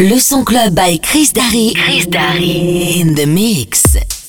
Le son club by Chris Darry. Chris Darry in the mix.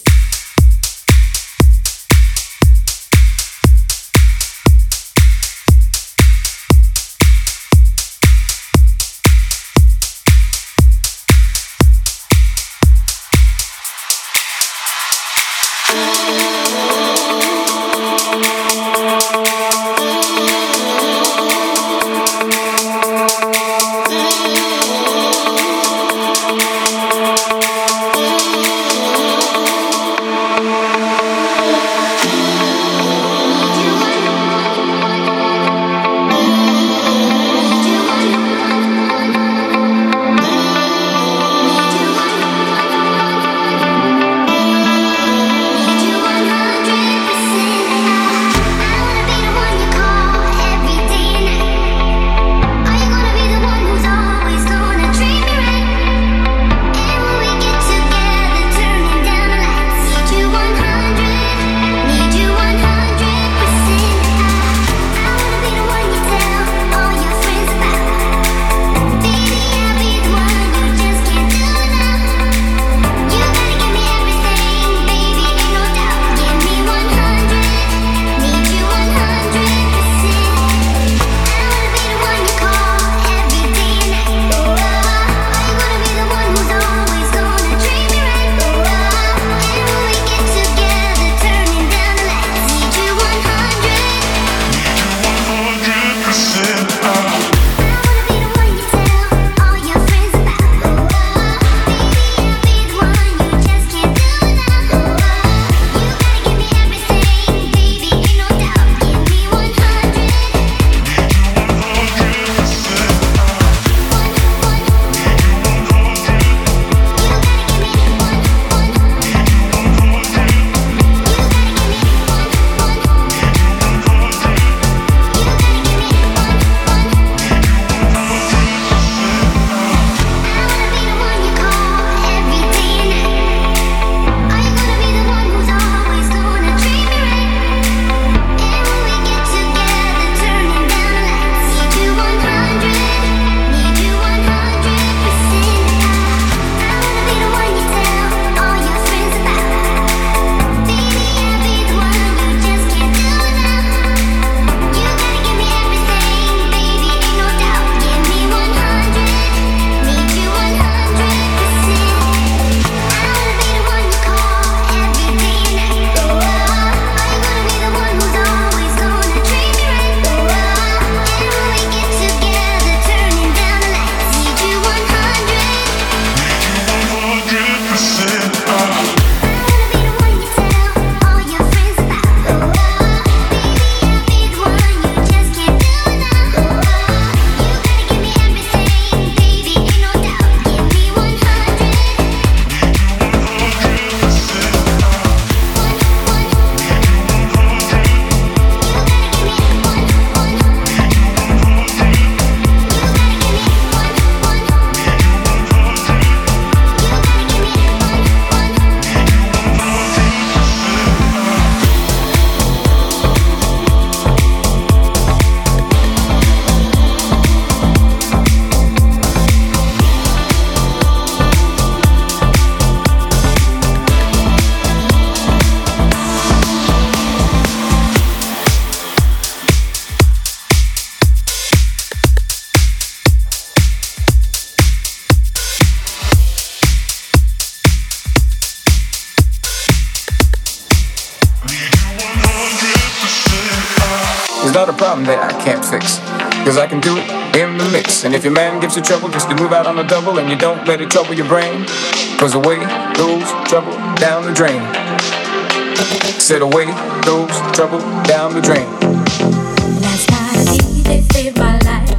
It's not a problem that I can't fix, cause I can do it in the mix. And if your man gives you trouble, just to move out on a double, and you don't let it trouble your brain, cause away goes trouble down the drain. Said away goes trouble down the drain. Last night a DJ saved my life.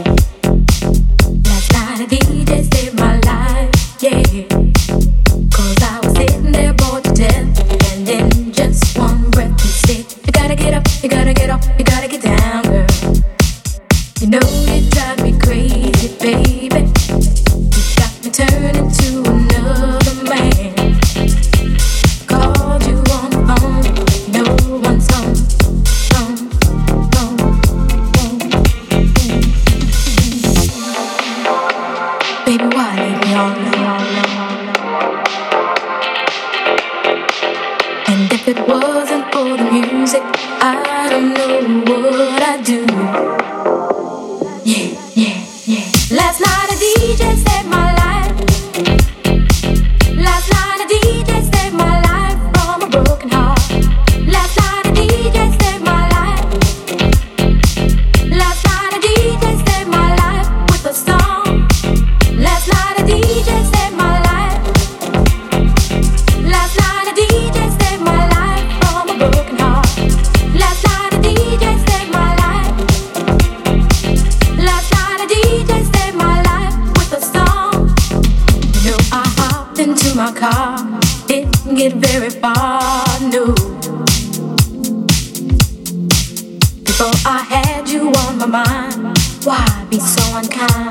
Last night a DJ saved my life, yeah. Cause I was sitting there bored to death, and in just one breath he said, you gotta get up, you gotta get up, you gotta get down, girl. You know you drive me crazy, baby. You got me turning to another man. Called you on the phone, no one's home. Baby, why? Last night a DJ saved my life. Last night a DJ saved my life from a broken heart. Last night a DJ saved my life. Last night a DJ saved my life with a song. Last night a DJ saved my life. Last night a DJ saved my life from a broken heart. Last night a DJ saved my life. Last night a DJ saved my life with a song. You know I hopped into my car, didn't get very far, no. Before I had you on my mind, why be so unkind?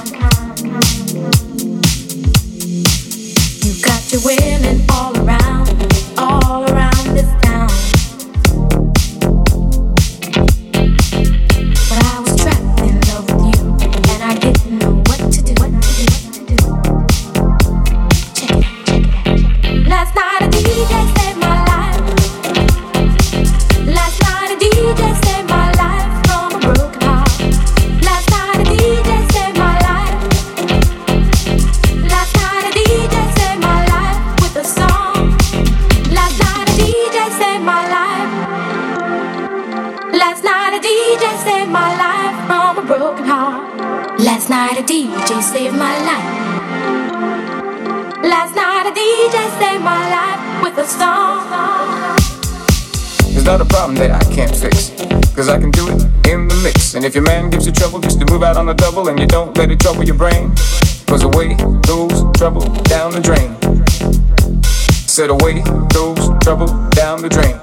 You got your women all around this town. But I was trapped in love with you, and I didn't know what to do. Check it out. Last night a DJ saved my life. Last night a DJ saved my life from a broken heart. Last night a DJ saved my life. Last night a DJ saved my life with a song. Last night a DJ saved my life. Last night a DJ saved my life from a broken heart. Last night a DJ saved my life. Last night a DJ saved my life with a song. There's not a problem that I can't fix, cause I can do it in the mix. And if your man gives you trouble, just to move out on a double, and you don't let it trouble your brain, cause away goes trouble down the drain. Said away goes trouble down the drain.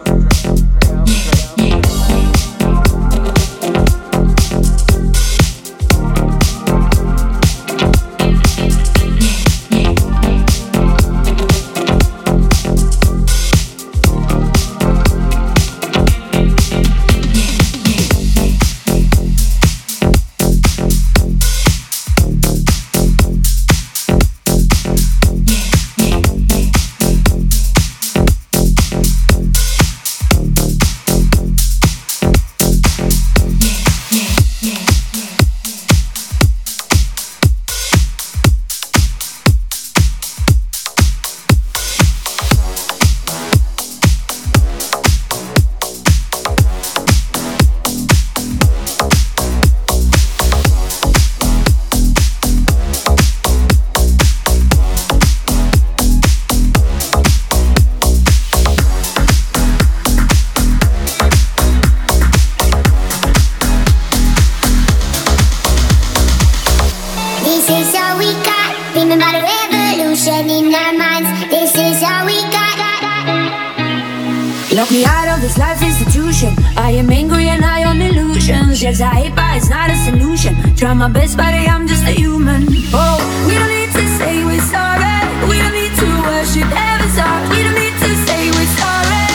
Lock me out of this life institution. I am angry and high on illusions. Yes, I hate, but it's not a solution. Try my best, but I'm just a human. Oh, we don't need to say we're sorry. We don't need to worship heaven's heart. We don't need to say we're sorry.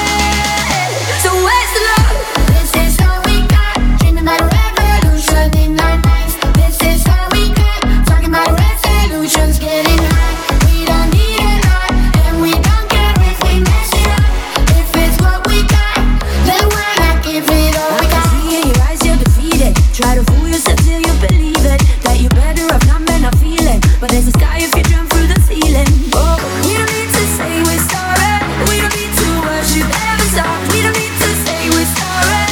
So where's the love? This is all we got. Dreaming about a revolution in our minds. This is all we got. Talking about resolutions, getting high. We don't need a lot, and we don't care if we mess it up. If it's what we got, then why not give it all we got? I can see in your eyes you're defeated. Try to fool yourself till you believe it, that you're better off not men are feeling. But there's a sky if you jump through the ceiling. Oh, we don't need to say we're sorry. We don't need to worship heaven's heart. We don't need to say we're sorry.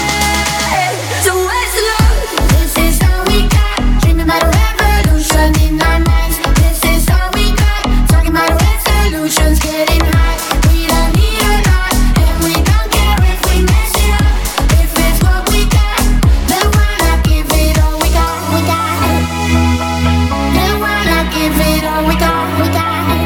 So where's the love? This is all we got. Dreaming about a revolution in our minds. This is all we got. Talking about resolutions, getting high. We don't need a lot, and we don't care if we mess it up. If it's what we got, then why not give it all we got? We got it. Then why not give it all we got? We got it.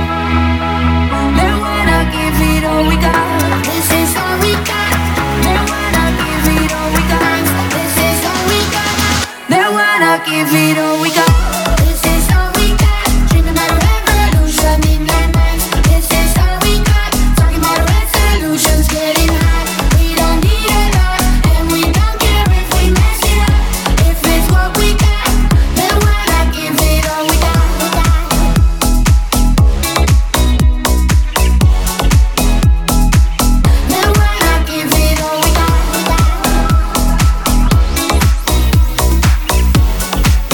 Then why not give it all we got? This is all we got. Then why not give it all we got? This is all we got. Then why not give it all we got? This is all we got. Dreaming about a revolution in our minds. This is all we got. Talking about resolutions, getting high. We don't need a lot, and we don't care if we mess it up. If it's what we got, then why not give it all we got? We got it. Then why not give it all we got? We got it.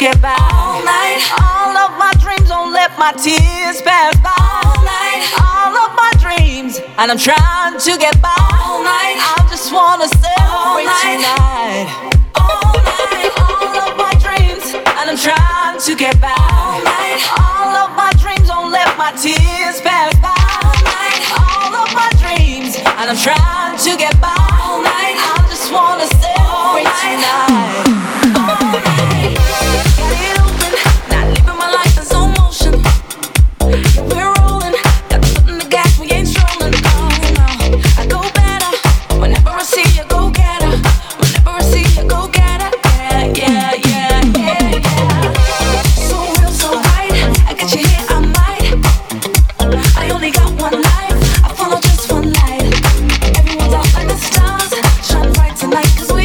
get by. All night, all of my dreams, don't let my tears pass by. All night, all of my dreams, and I'm trying to get by. All night, I just wanna celebrate tonight. All night, all of my dreams, and I'm trying to get by. All night, all of my dreams, don't let my tears pass by. All night, all of my dreams, and I'm trying to get by. All night, I just wanna celebrate tonight. All night, got it open, not living my life in slow motion. We're rolling, got the foot in the gas, we ain't strolling. Oh no, I go better whenever I see you, go get her. Whenever I see you, go get her. Yeah, yeah, yeah, yeah, yeah. So real, so right, I got you here, I might. I only got one life, I follow just one light. Everyone's out like the stars, shine bright tonight, 'cause we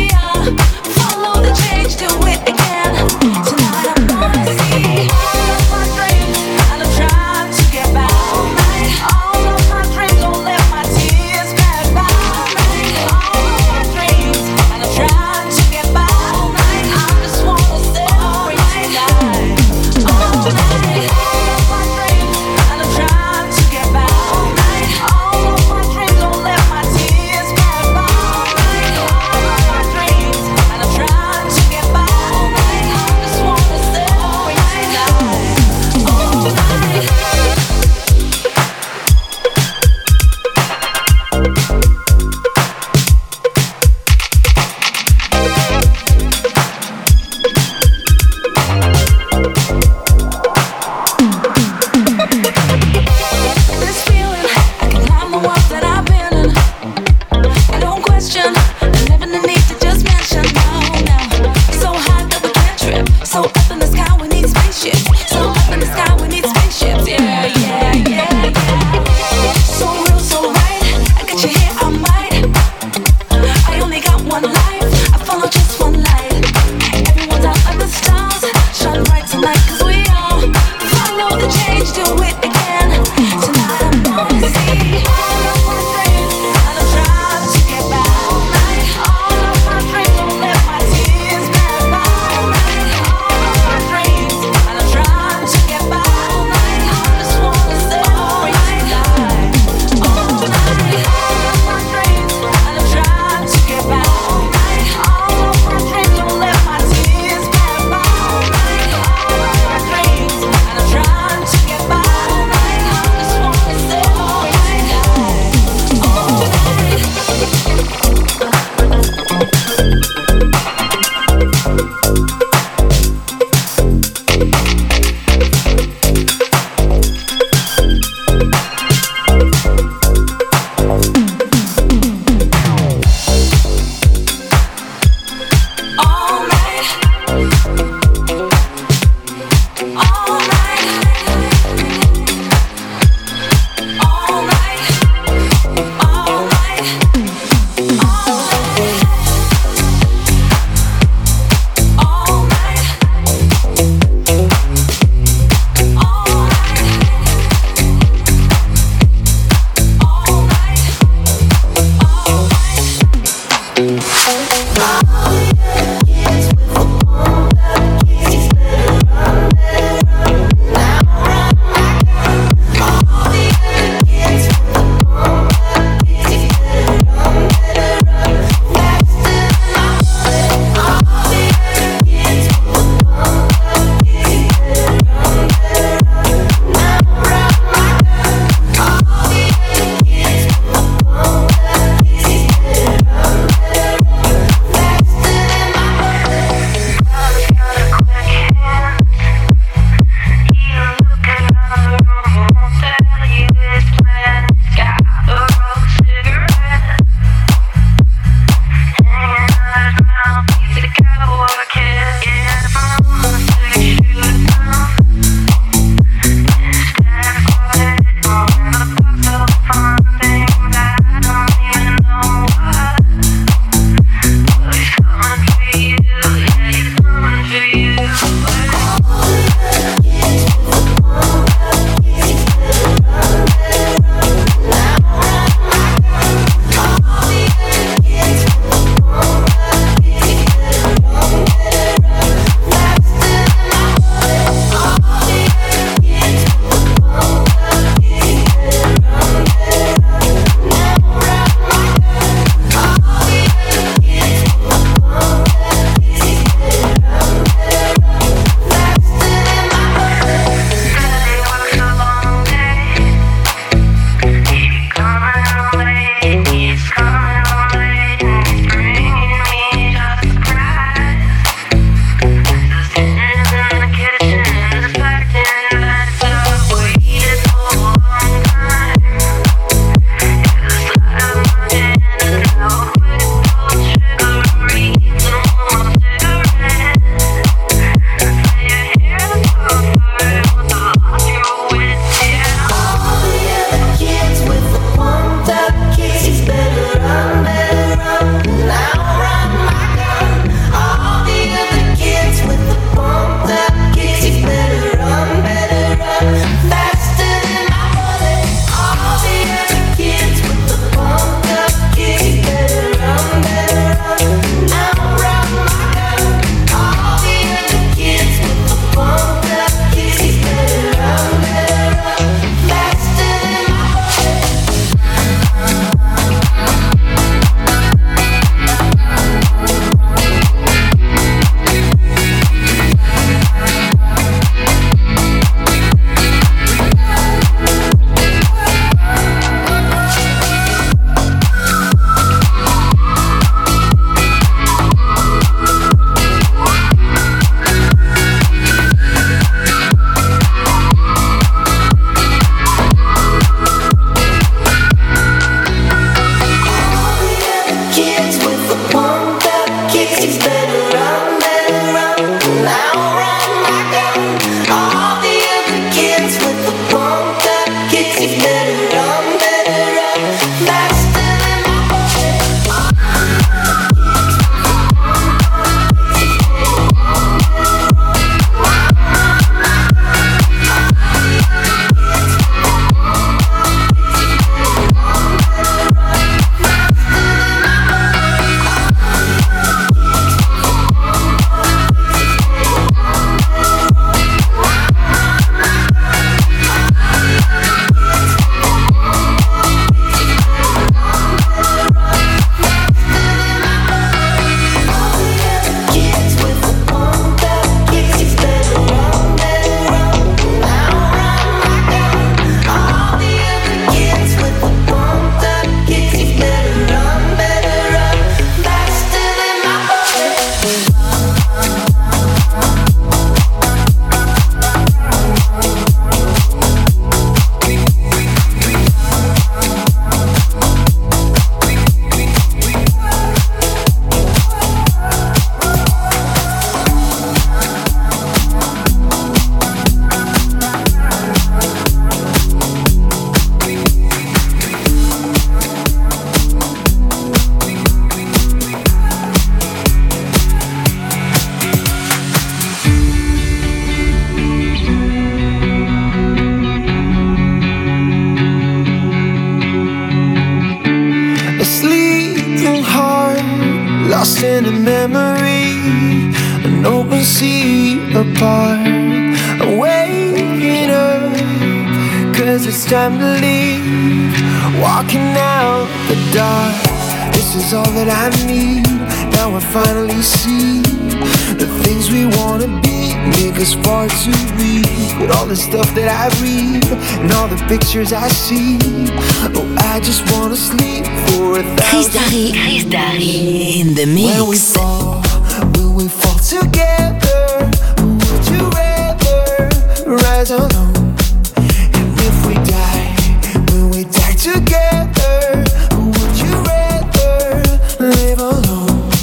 apart. I'm waking up, 'cause it's time to leave. Walking out the dark, this is all that I need. Now I finally see the things we wanna be make us far too weak. With all the stuff that I read and all the pictures I see, oh, I just wanna sleep for 1,000. Chris Darry in the mix. When we fall, will we fall together? Would you rather rise alone? And if we die, will we die together? Would you rather live alone?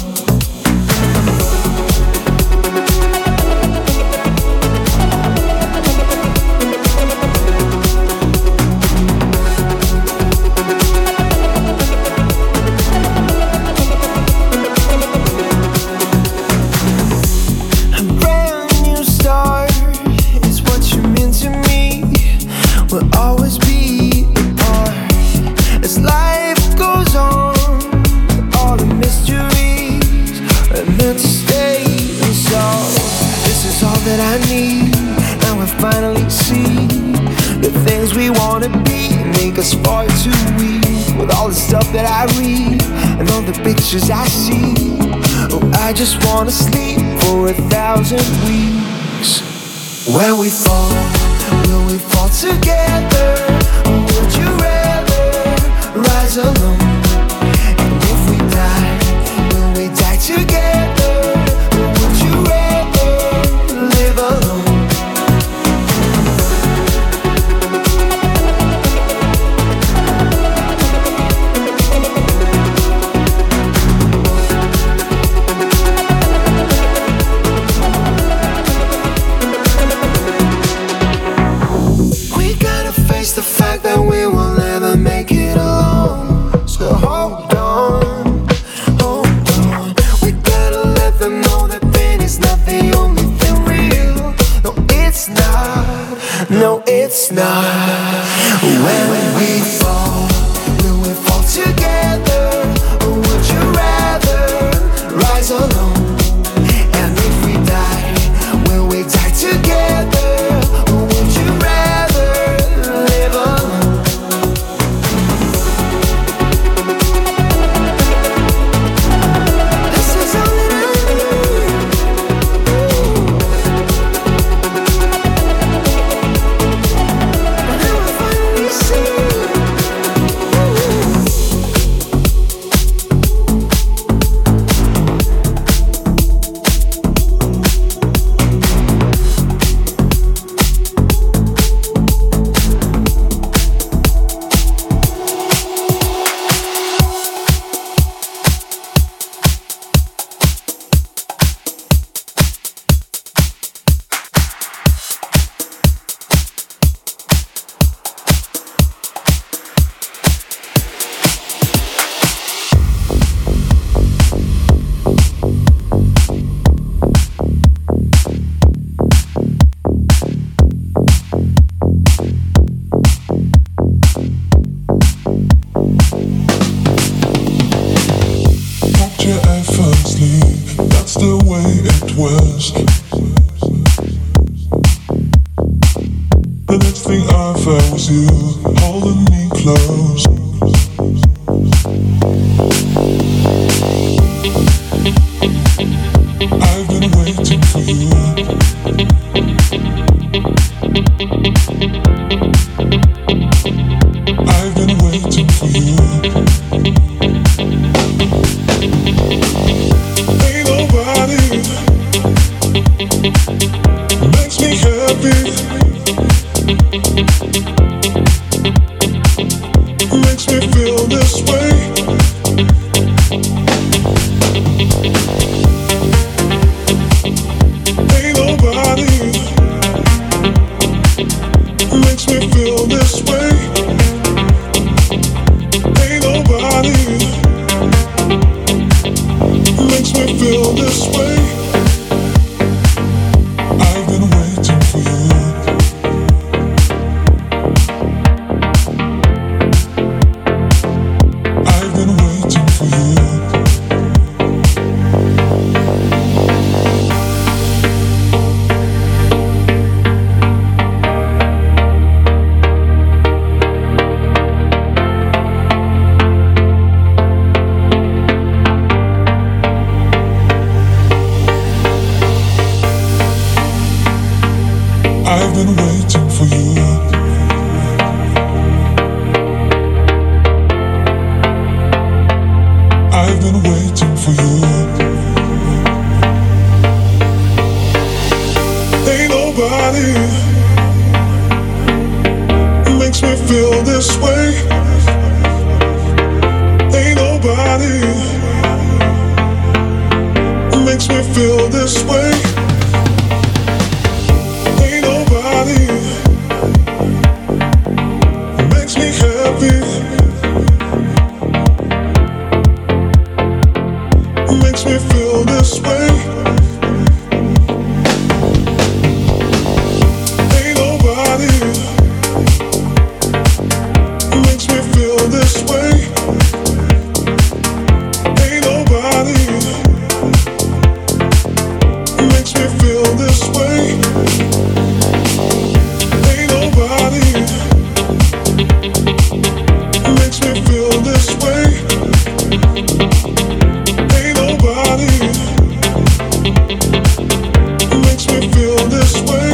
Far too weak with all the stuff that I read and all the pictures I see. Oh, I just wanna sleep for 1,000 weeks. When we fall, will we fall together? Or would you rather rise alone? And if we die, will we die together? Or would you rather live alone? The fact that we will never make it alone. So hold on, hold on. We gotta let them know that pain is not the only thing real. No, it's not. No, it's not. When we fall, will we fall together? Or would you rather rise alone? And if we die, will we die together? Or would you rather live alone? This is all that I need. And now I finally see. That's the way it was. The next thing I felt was you holding me close. I've been waiting for you. I've been waiting for you. Ain't nobody makes me happy, makes me feel this way. Ain't nobody makes me feel this way. Ain't nobody makes me feel this way. I've been waiting for you. waiting for you. I've been waiting for you. Ain't nobody makes me feel this way. Ain't nobody makes me feel this way. Ain't nobody makes me happy. Makes me feel this way. Ain't nobody makes me feel this way. Ain't nobody makes me feel this way. Ain't nobody makes me feel this way. Ain't nobody makes me feel this way.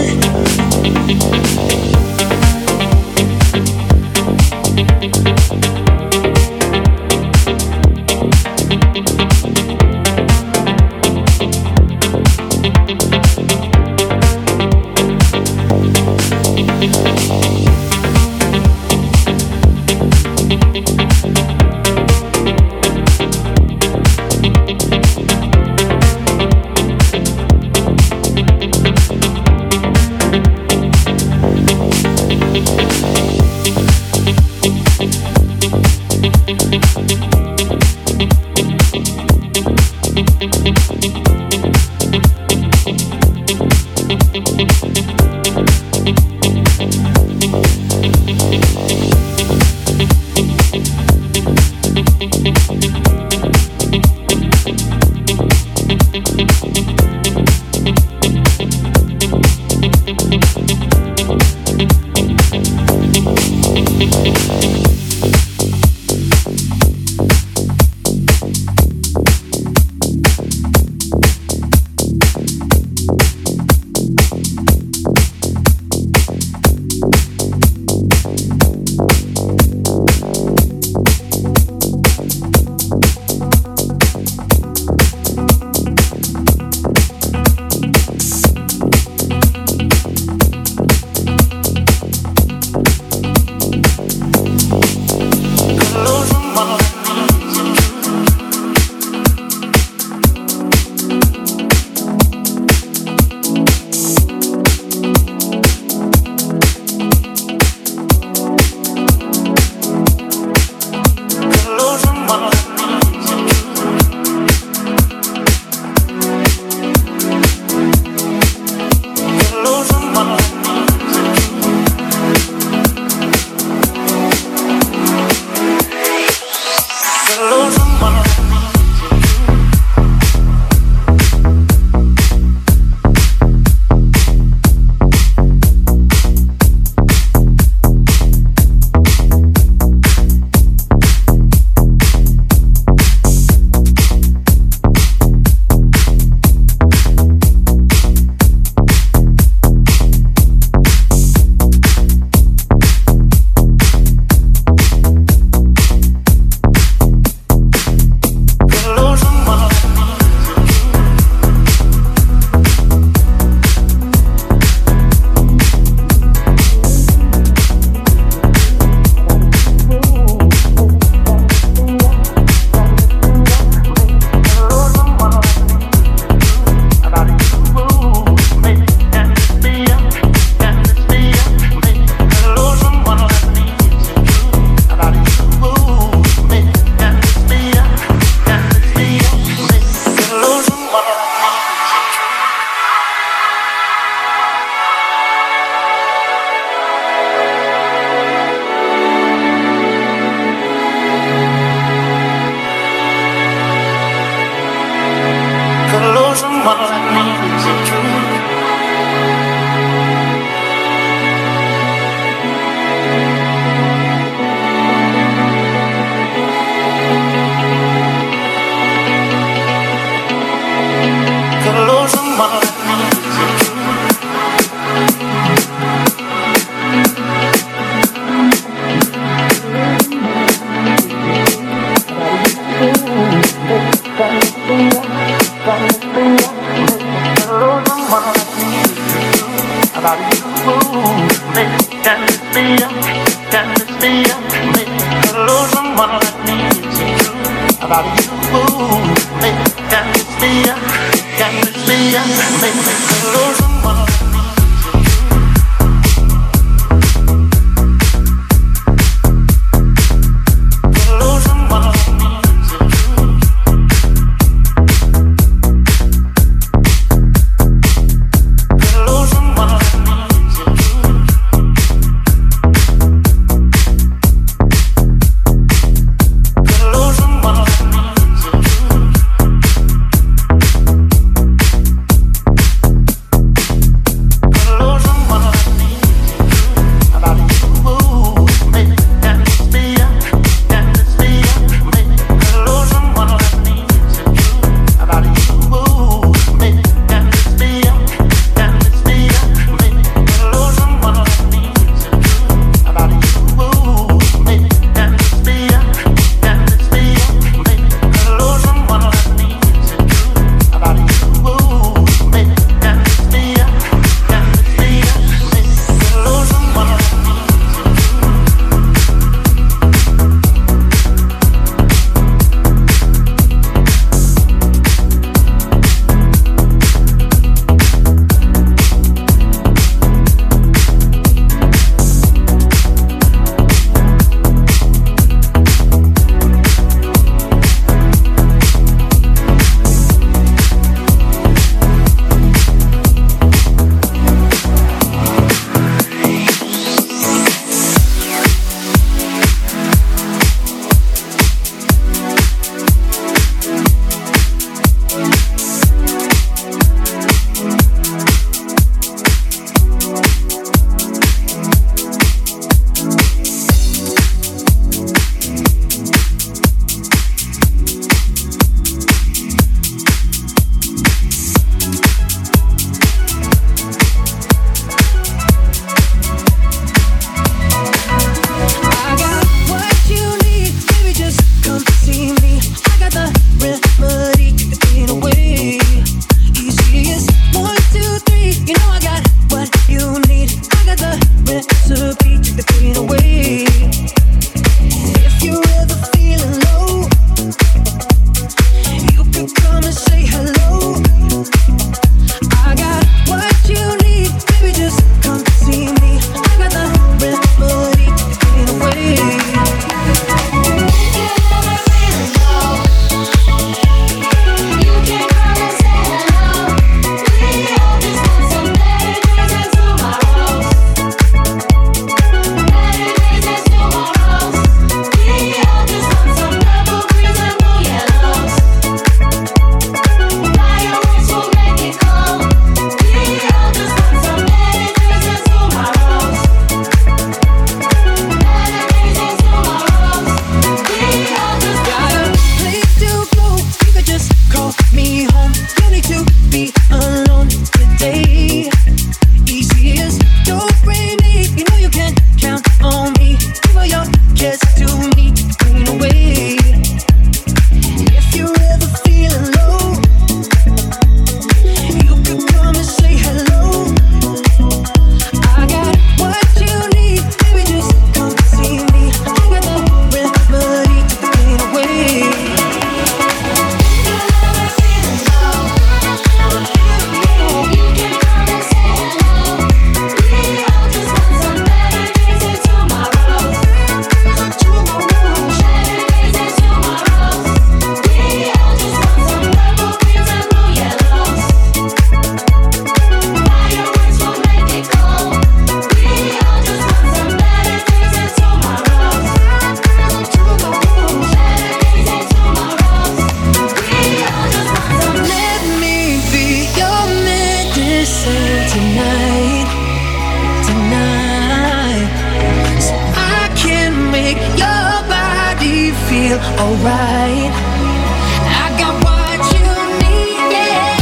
alright. I got what you need, yeah.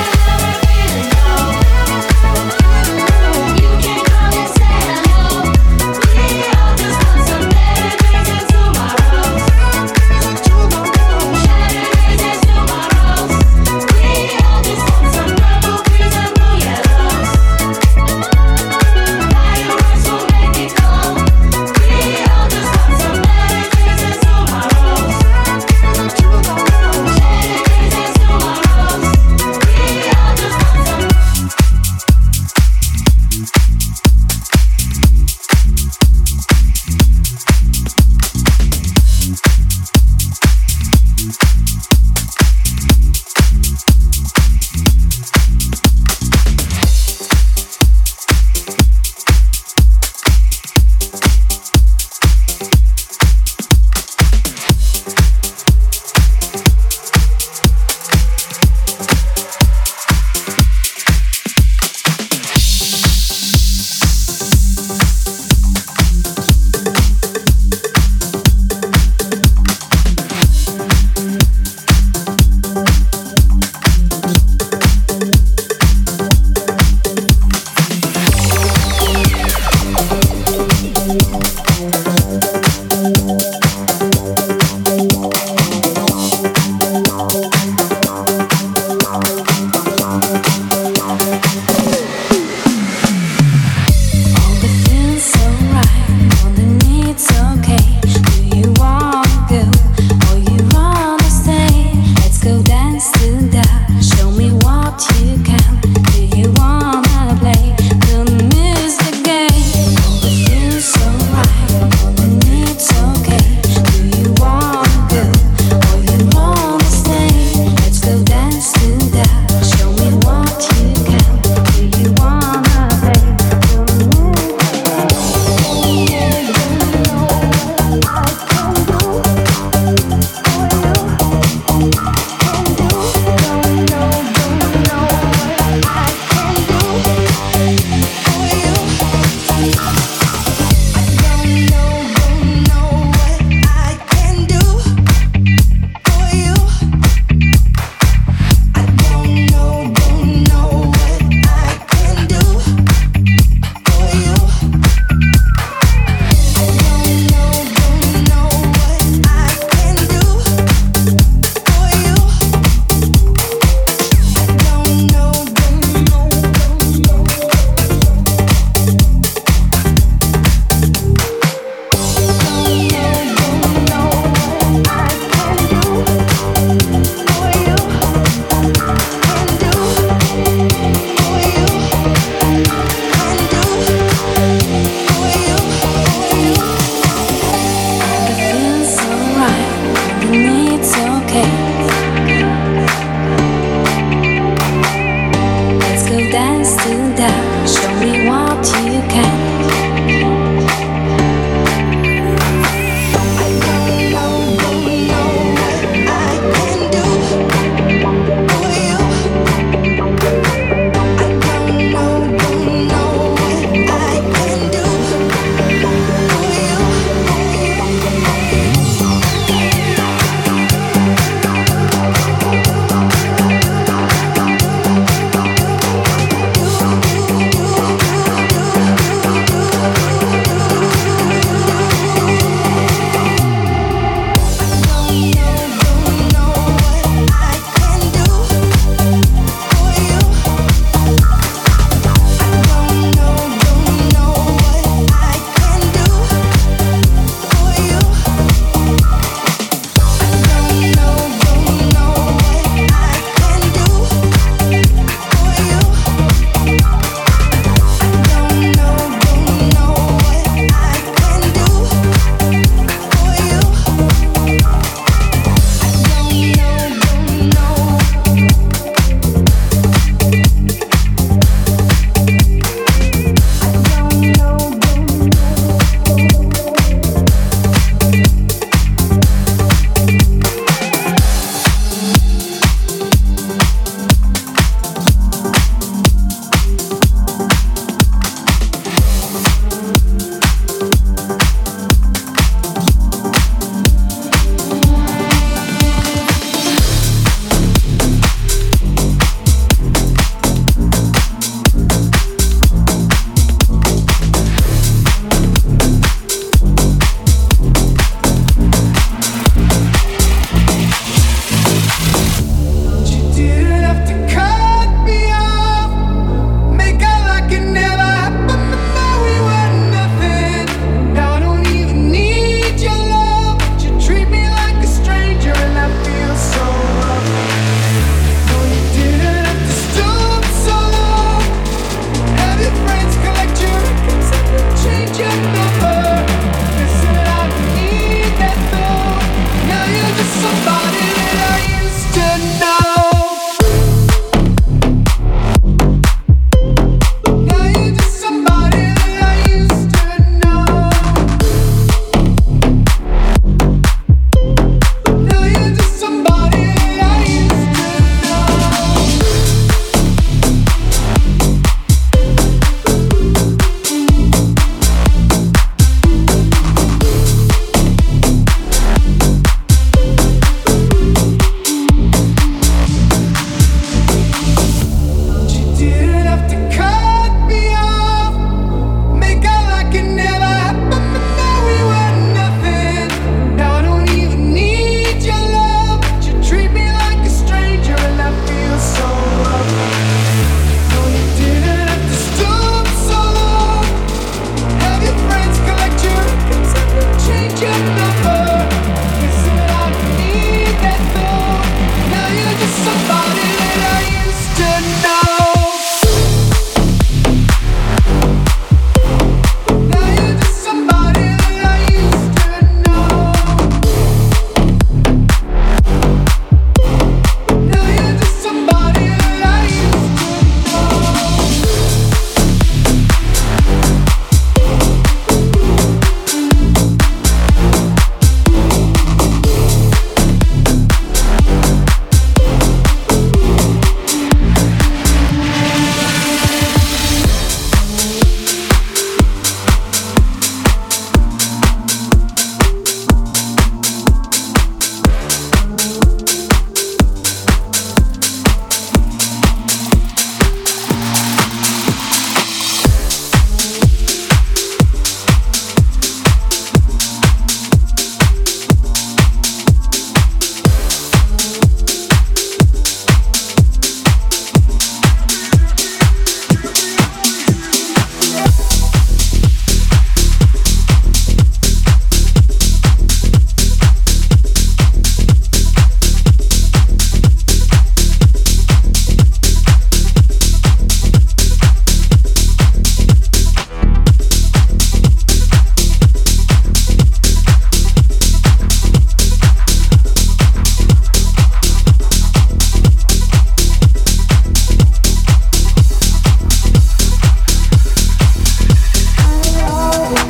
You can come and say hello. We all just want some better days and tomorrows. Shattered days and tomorrows. We all just want some purple greens and blue yellows. Fireworks will make it cold. We all just want some better days and tomorrows.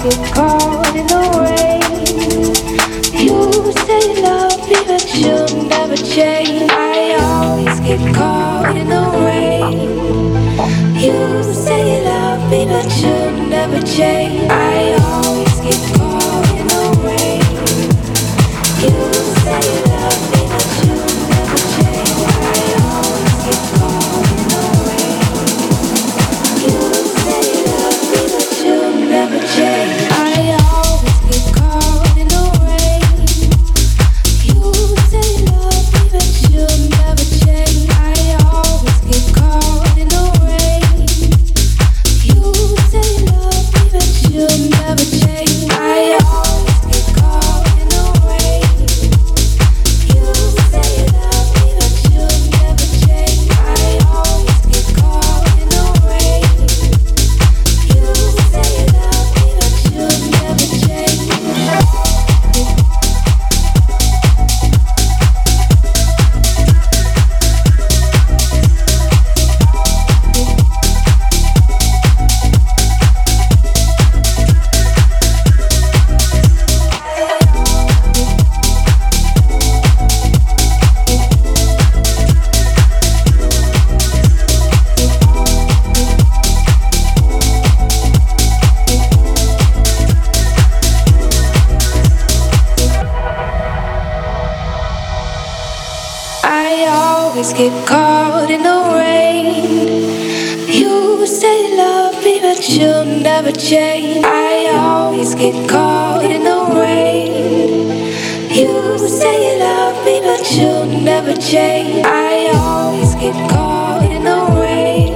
get caught in the rain. You say you love me, but you'll never change. I always get caught in the rain. You say you love me, but you'll never change. I always get caught in the rain. You say you love me, but you'll never change. I always get caught in the rain. You say you love me, but you'll never change. I always get caught in the rain. You say you love me, but you'll never change. I always get caught in the rain. You say you love me, but you'll never change. I always get caught in the rain. You say you love me, but you'll never change. I always get caught in the rain. You say you love me, but you'll never change. I always get caught in the rain. You say you love me, but you'll never change. I always get caught in the rain. You say you love me, but you'll never change. I always get caught in the rain.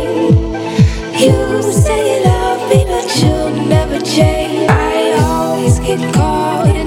You say you love me, but you'll never change. I always get caught in